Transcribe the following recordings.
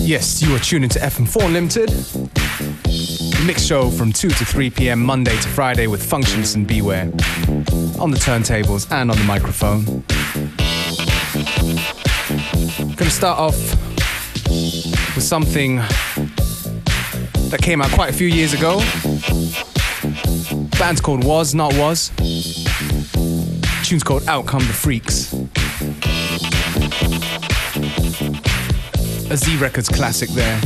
Yes, you are tuning to FM4 Limited. The mix show from 2 to 3 p.m. Monday to Friday with Functionist and Beware. On the turntables and on the microphone. Gonna start off with something that came out quite a few years ago. Band's called Was Not Was. Tune's called Out Come the Freaks. A Z Records classic there.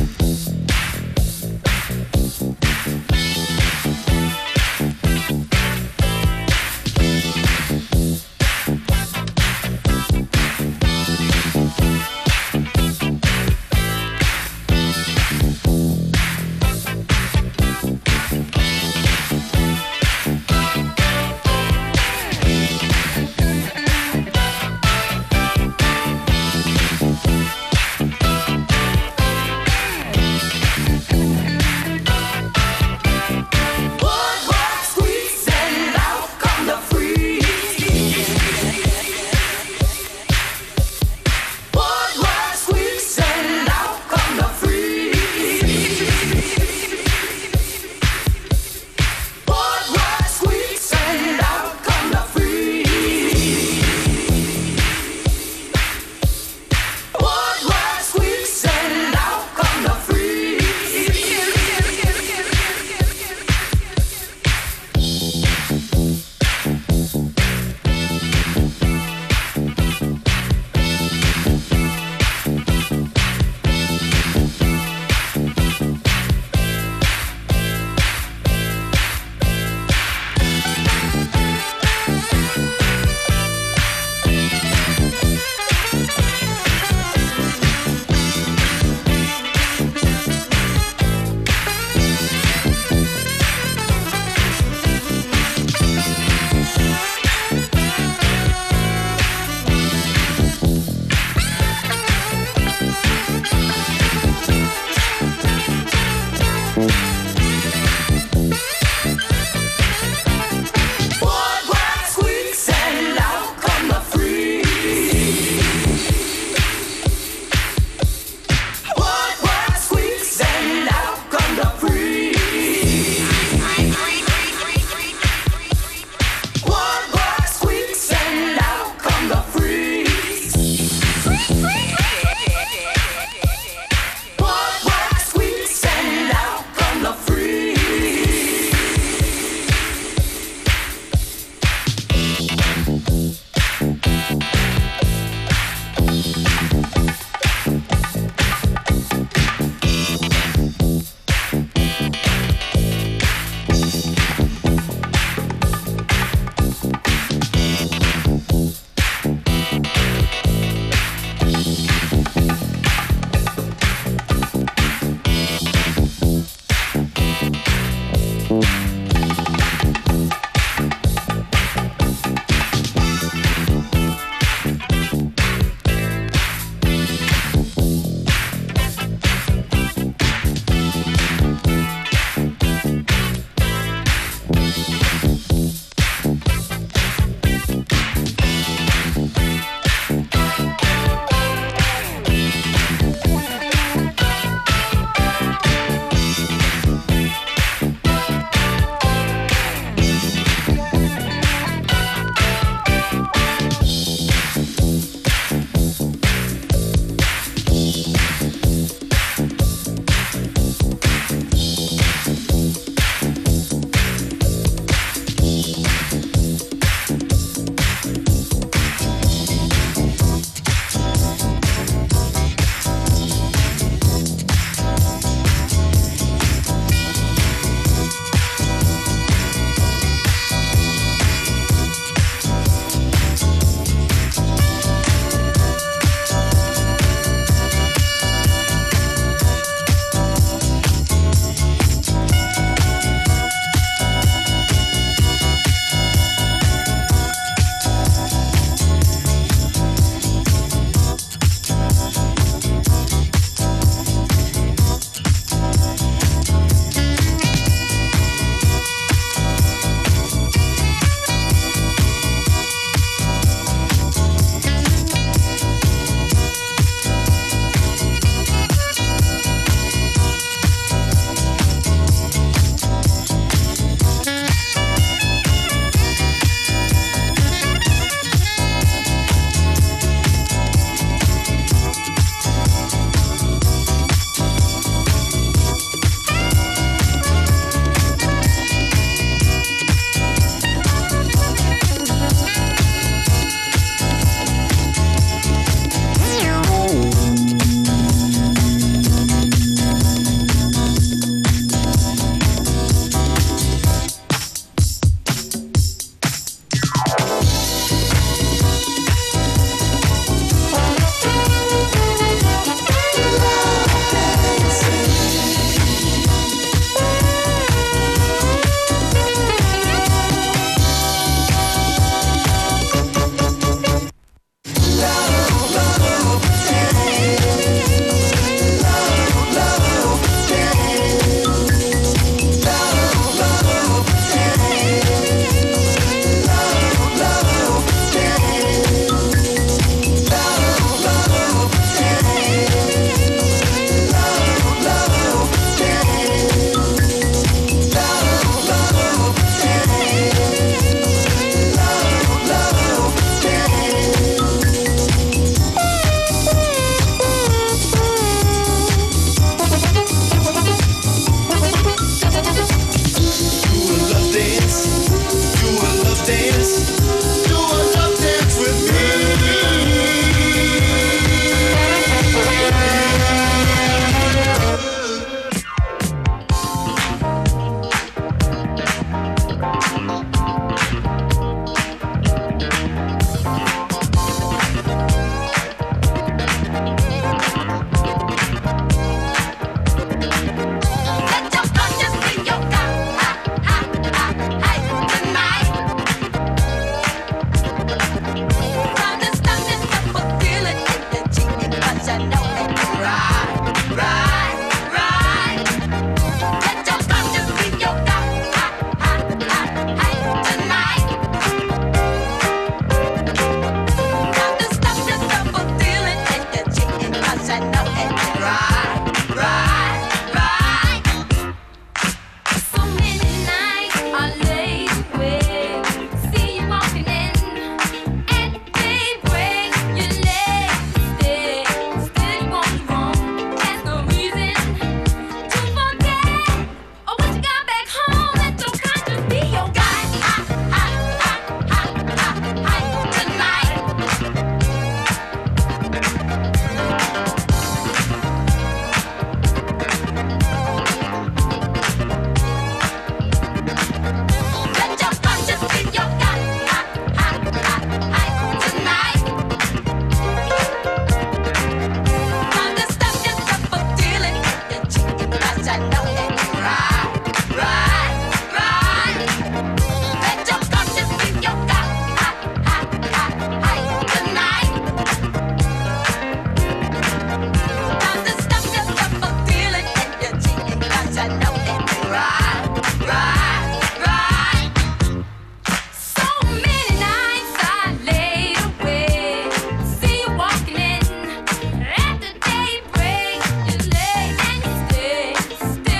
Still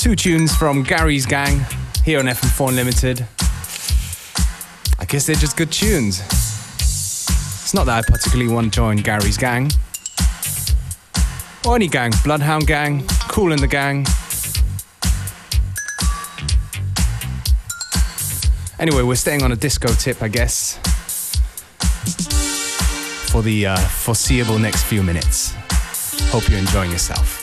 2 tunes from Gary's Gang here on FM4 Unlimited. I guess they're just good tunes. It's not that I particularly want to join Gary's Gang. Or any gang, Bloodhound Gang, Kool and the Gang. Anyway, we're staying on a disco tip, I guess, for the foreseeable next few minutes. Hope you're enjoying yourself.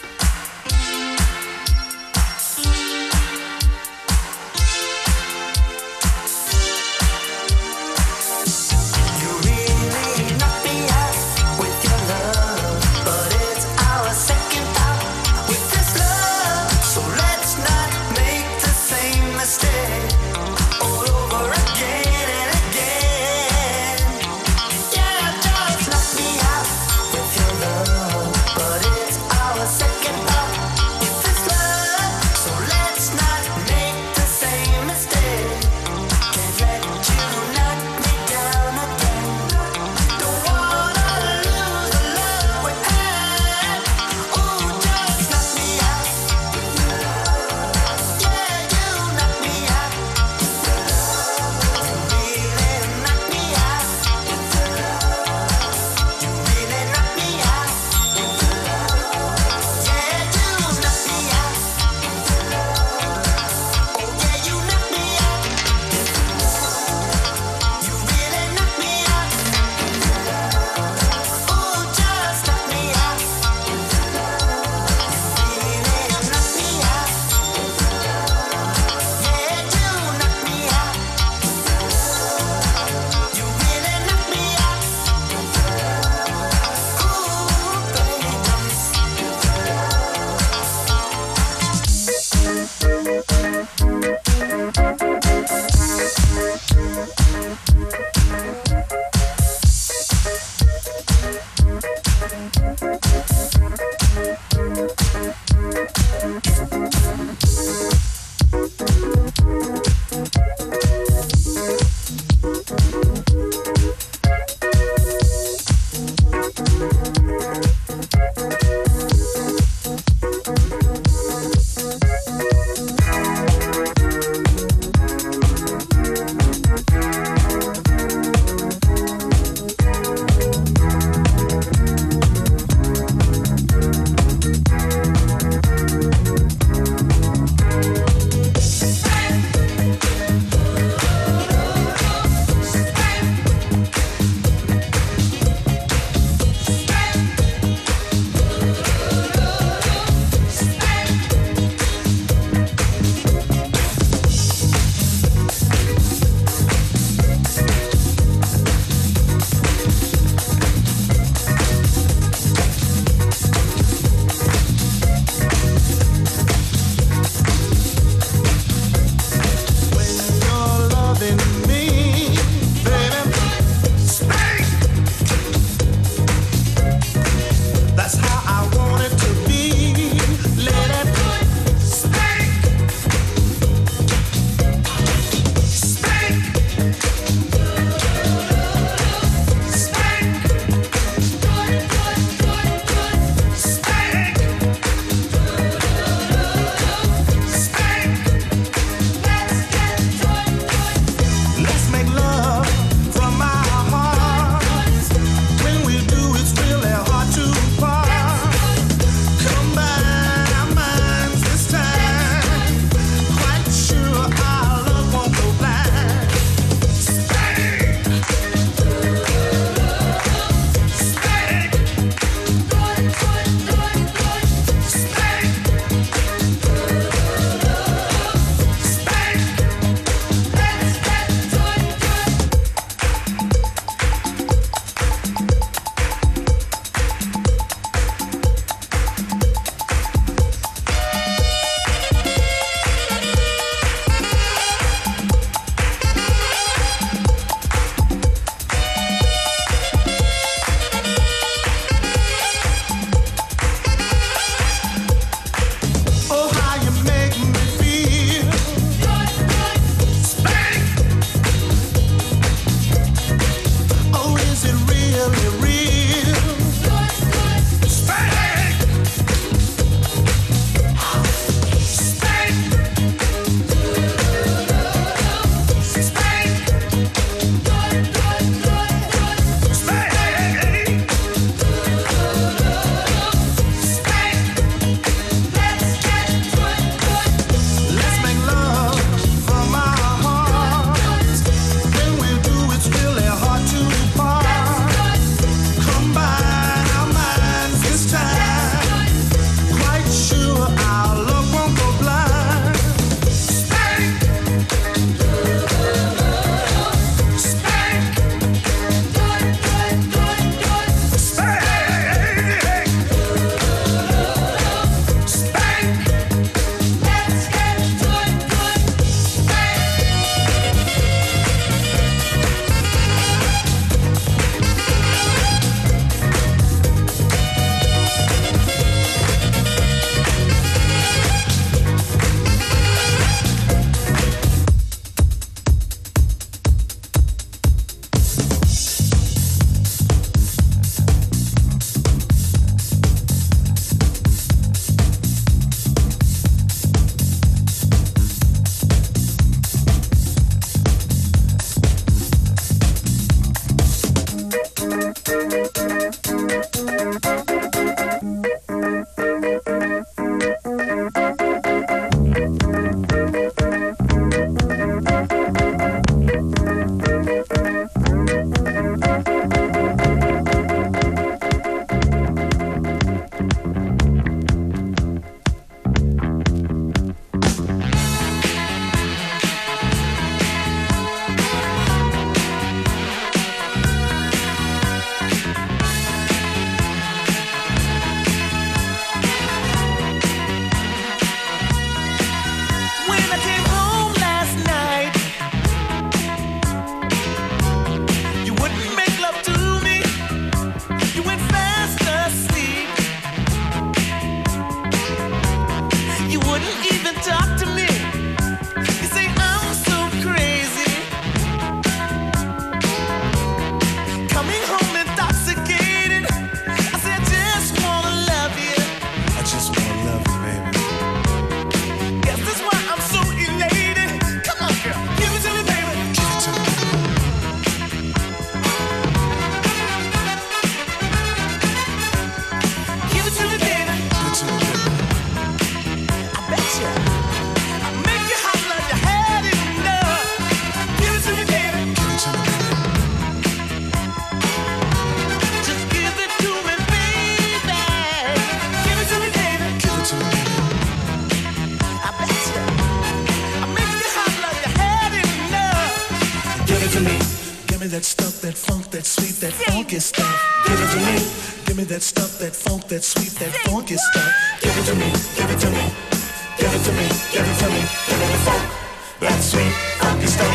that stuff, that funk, that sweet, that funky stuff. Give it to me. Give me that stuff, that funk, that sweet, that funky stuff. Give it to me. Give it to me. Give it to me. Give it to me. Give me the funk, that sweet, funky stuff.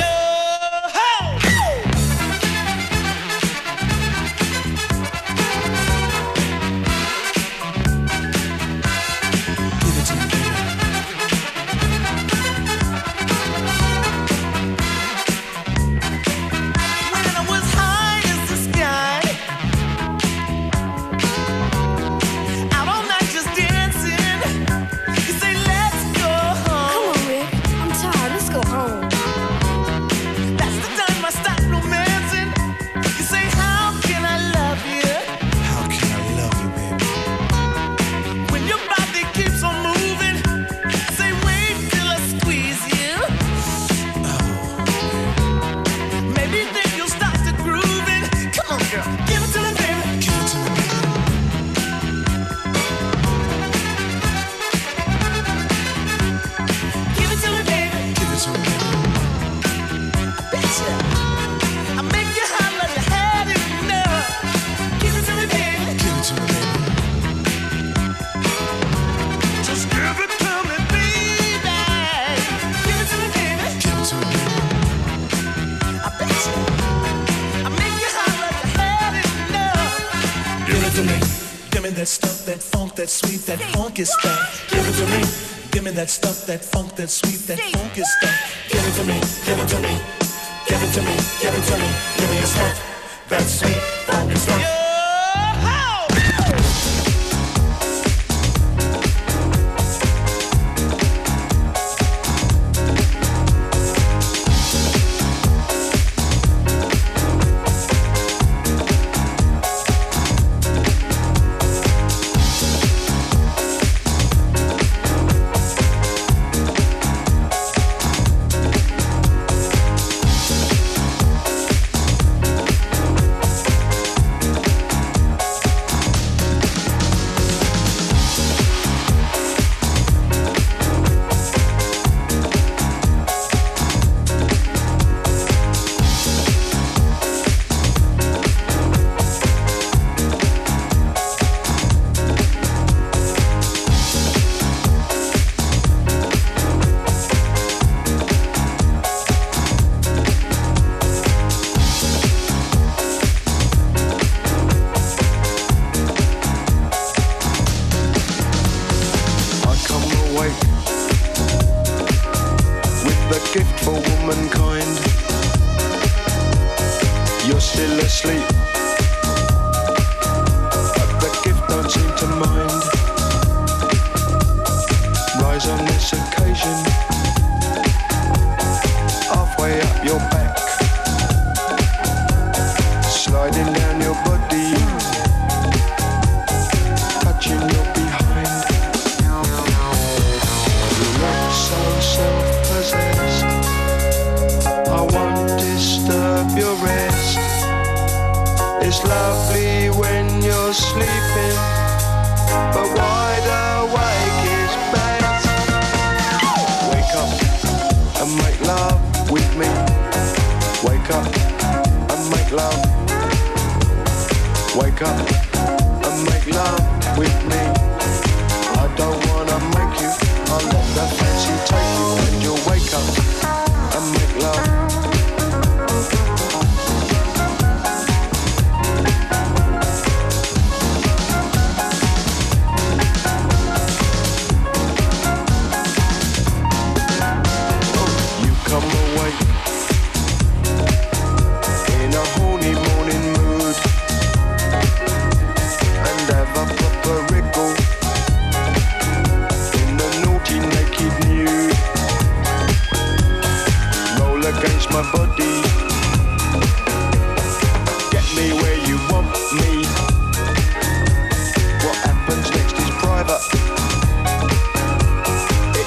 That sweet, that funky stuff. Give it to me. Give me that stuff, that funk, that sweet, that funky stuff. Give it to me. Give it to me. Give it to me. Give it to me. Give me the stuff, that sweet, funky stuff.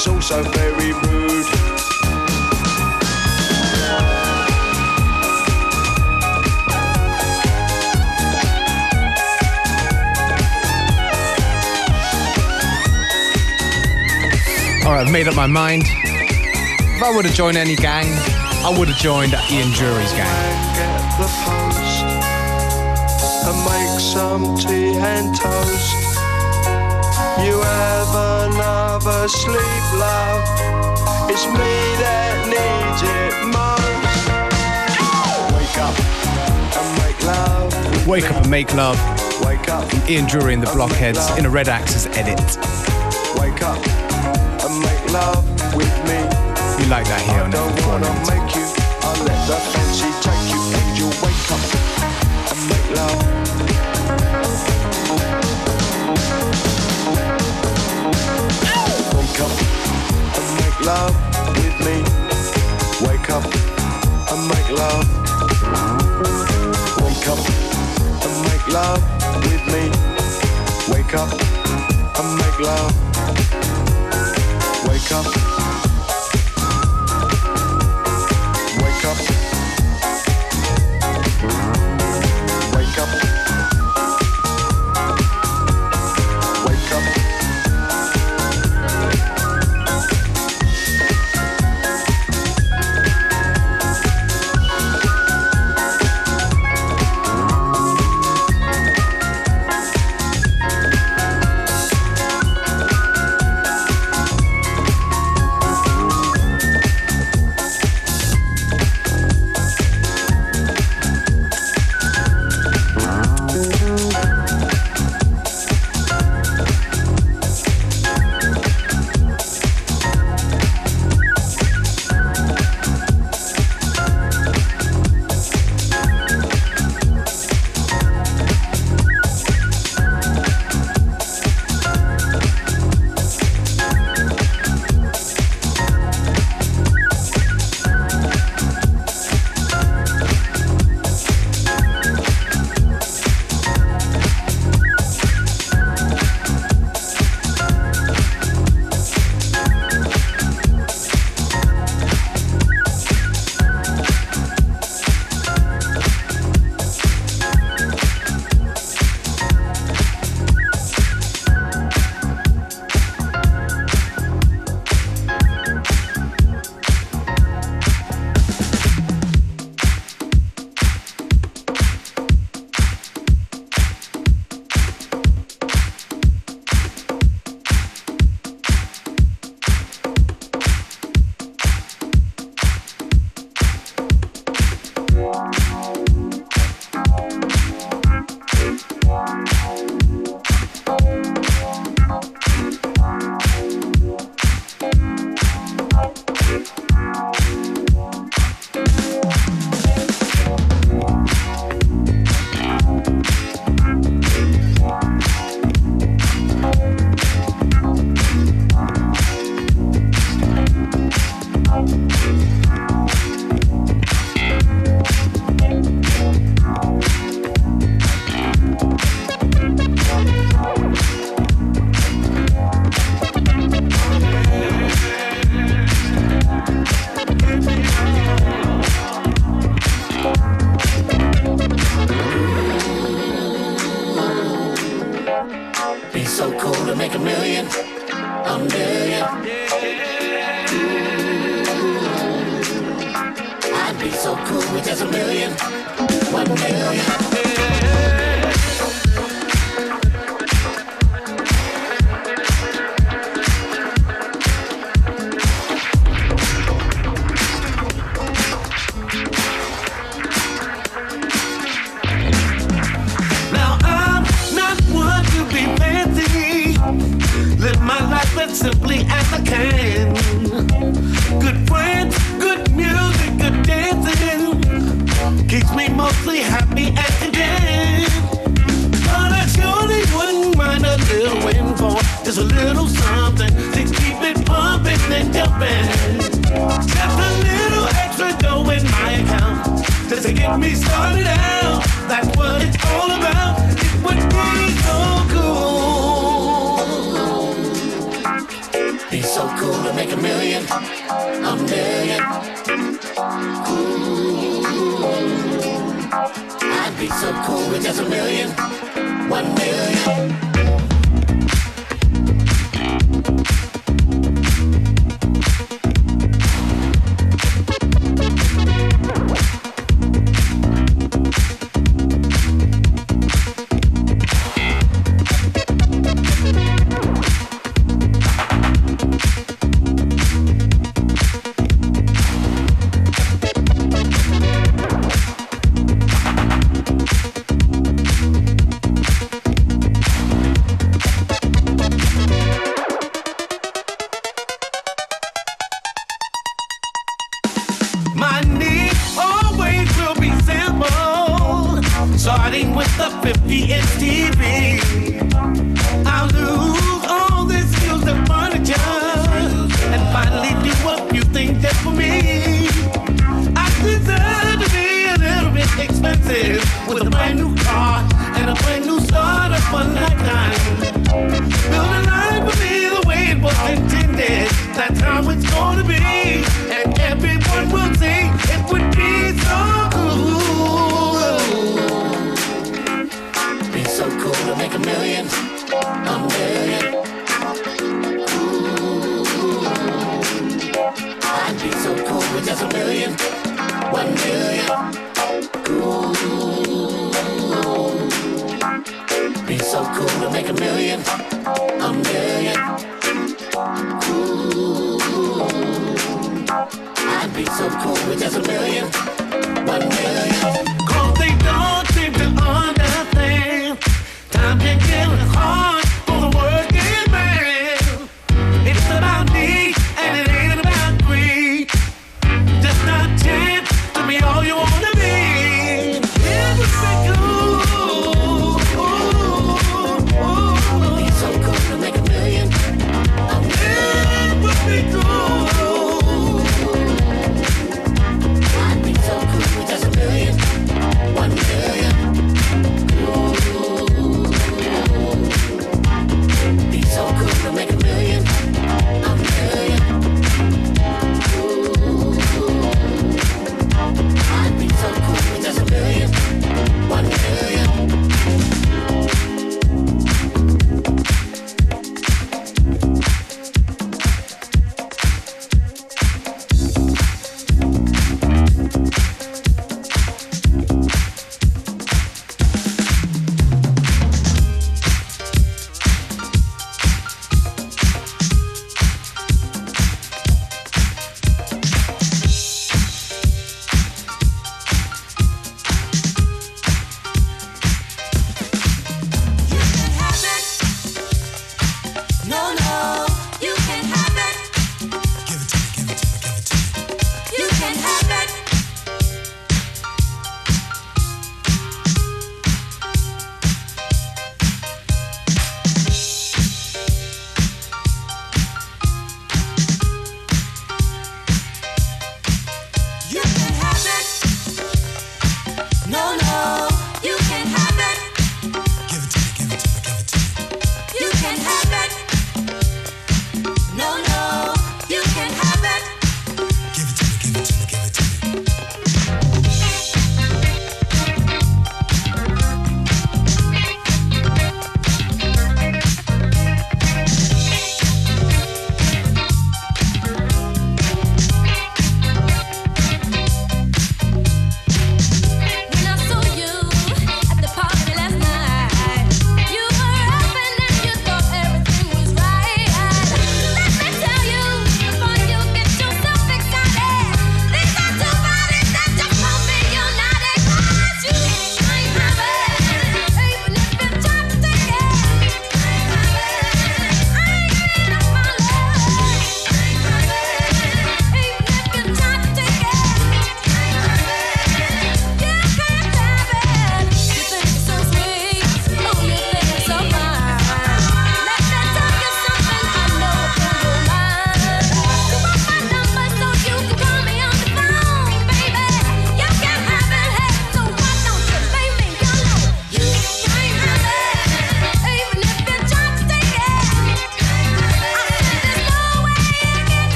it's also very rude. Alright, I've made up my mind. If I would have joined any gang, I would have joined Ian Dury's gang. Get the post and make some tea and toast. You have another sleep, love. It's me that needs it most. Wake up and make love. Wake Up and Make Love. Wake up. Ian Dury and the Blockheads in a Red Axis edit. Wake up and make love with me. You like that here on I don't FM4 wanna Limited. make you, I'll let the fancy take you, and you'll wake up and make love. Wake up and make love with me. Wake up and make love. Wake up and make love with me. Wake up and make love. Wake up. Wake up. Wake up. Wake up. so cool to make a million. Ooh, I'd be so cool with just a million. 1 million. Starting with the 50-inch TV, I'll lose all this music furniture and finally do a few things just for me. I deserve to be a little bit expensive with a brand new car and a brand new startup for lifetime. Build a life for me the way it was intended. That's how it's gonna be, and everyone will see it would be so cool. So cool to make a million. Ooh, I'd be so cool with just a million. 1 million. Ooh, be so cool to make a million. Ooh, I'd be so cool with just a million. 1 million. 'Cause they don't seem to understand. Time can get hard for the working man. It's about need and it ain't about greed. Just not chance to be all you wanna be. It would be cool. It'd be so cool to make a million. It would be cool. I'd be so cool with just a million.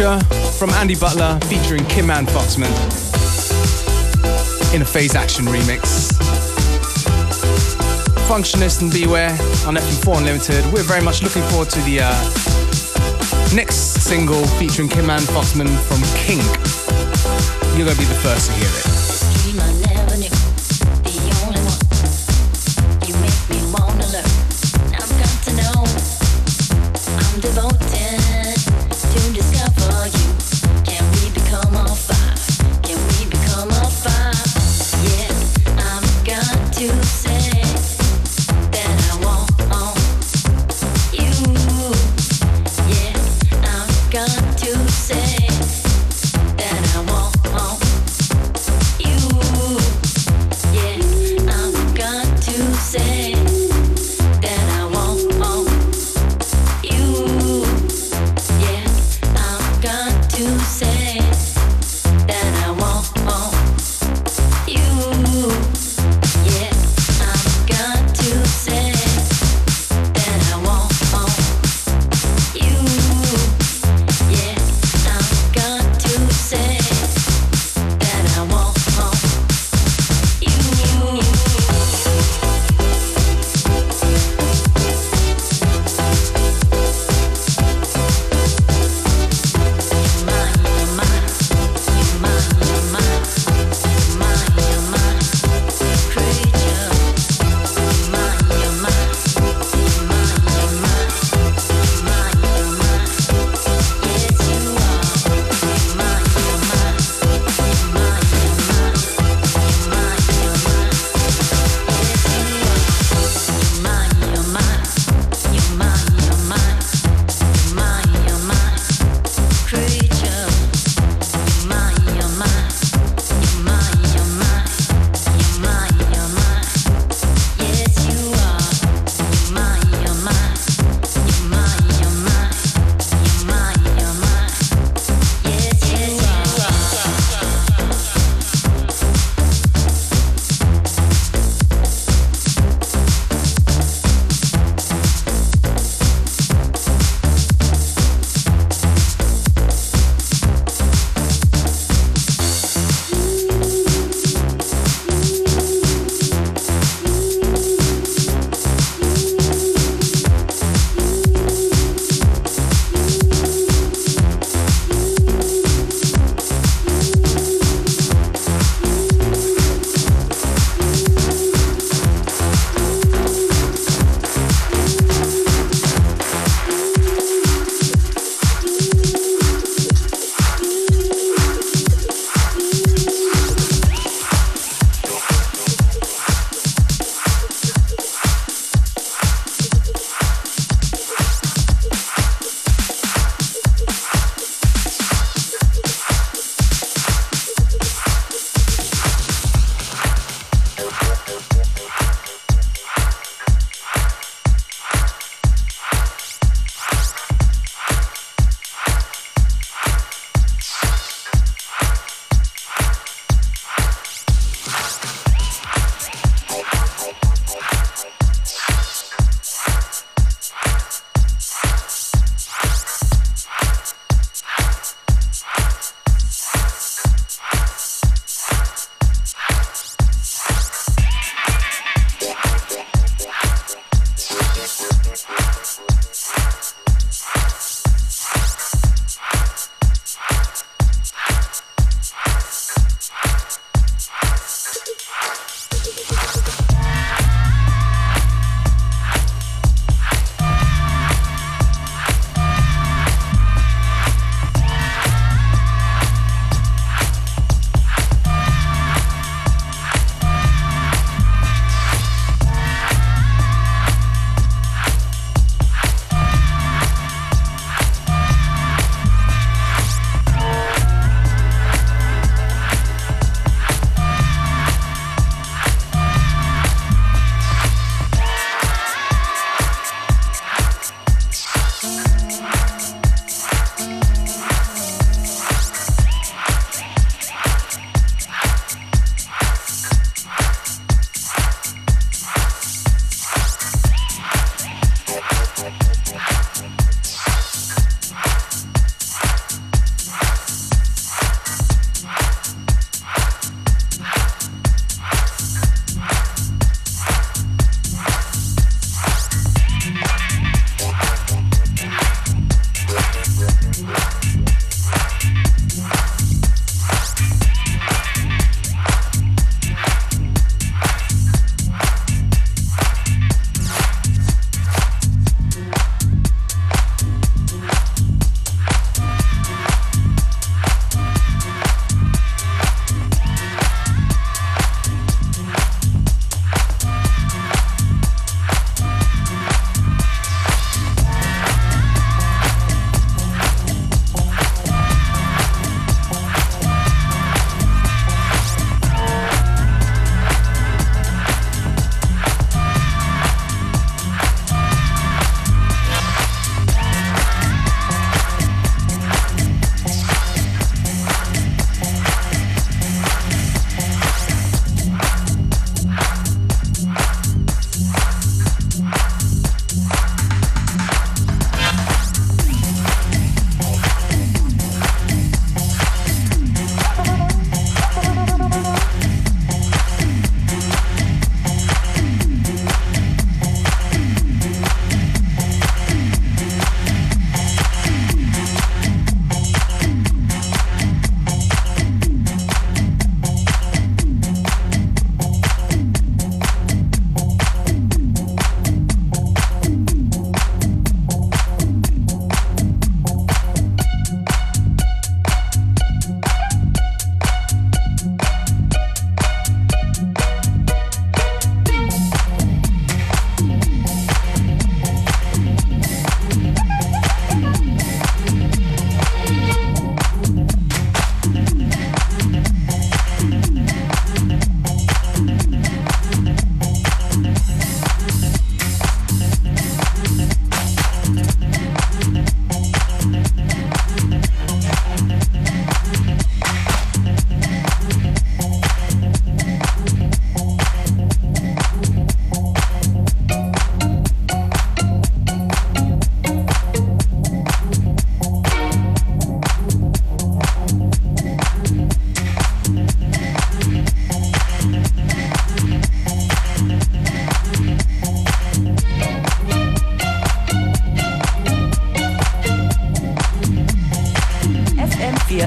Future from Andy Butler featuring Kim Ann Foxman in a Phase Action remix. Functionist and Beware on FM4 Unlimited. We're very much looking forward to the next single featuring Kim Ann Foxman from King. You're going to be the first to hear it. Got to say that I want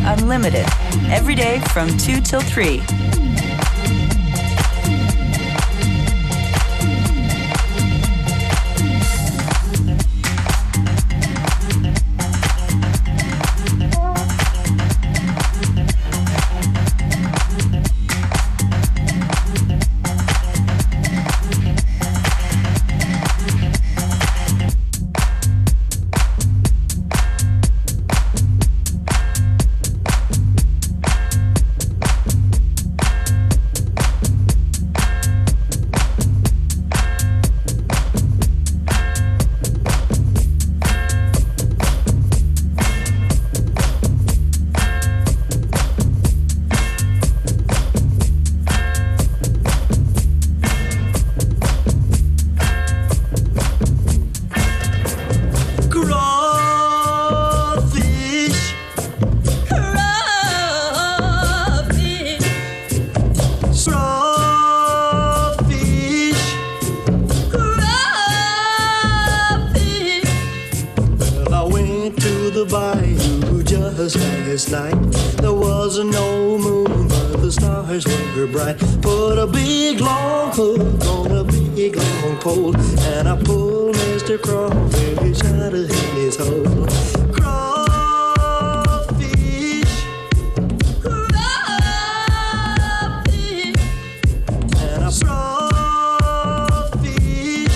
Unlimited. Every day from 2 till 3. Last night there was no moon, but the stars were bright. Put a big long hook on a big long pole, and I pulled Mr. Crawfish out of his hole. Crawfish, crawfish, and I crawfish,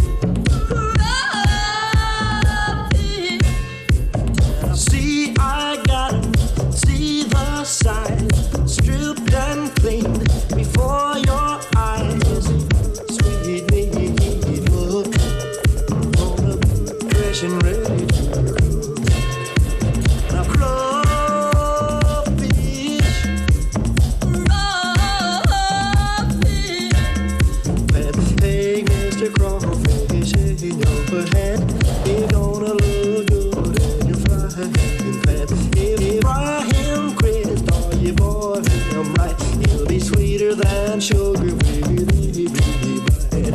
crawfish, and I see I got see the side, stripped and clean before your eyes. Sweet meat look on a fresh and ready to cook. Now crawfish, crawfish, and hey, Mr. Crawfish, in your hand, you're gonna look good in your frying pan. Fry him crisp, or you boil him right. He'll be sweeter than sugar with a bite.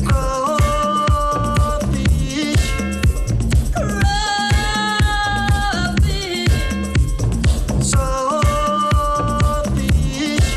Crawfish, crawfish, saltfish,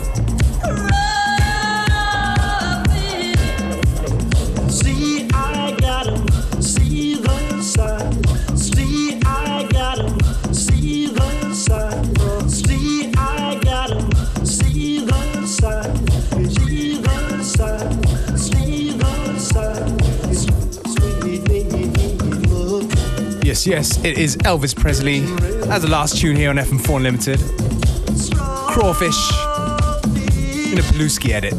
crawfish. See, I got him. See the side. See, I got him. See the side. See, I got him. See the side. See the side. See the side. Sweet look. Yes, yes, it is Elvis Presley. That's the last tune here on FM4 Unlimited. Crawfish in a Paluski edit.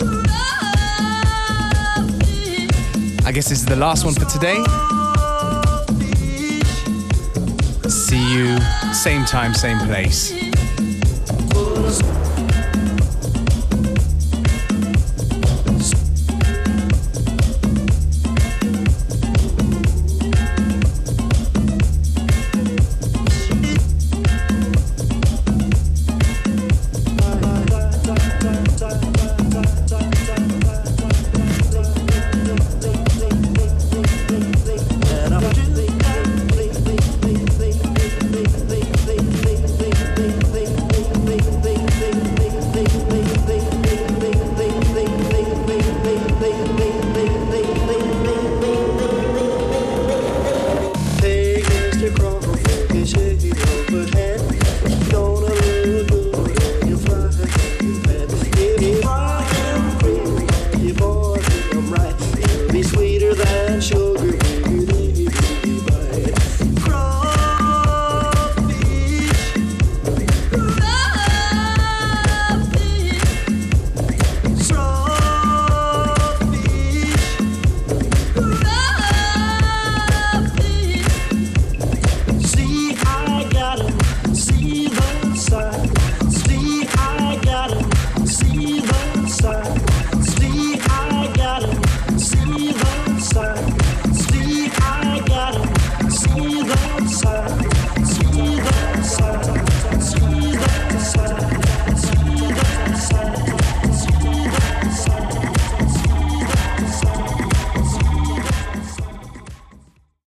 I guess this is the last one for today. See you, same time, same place.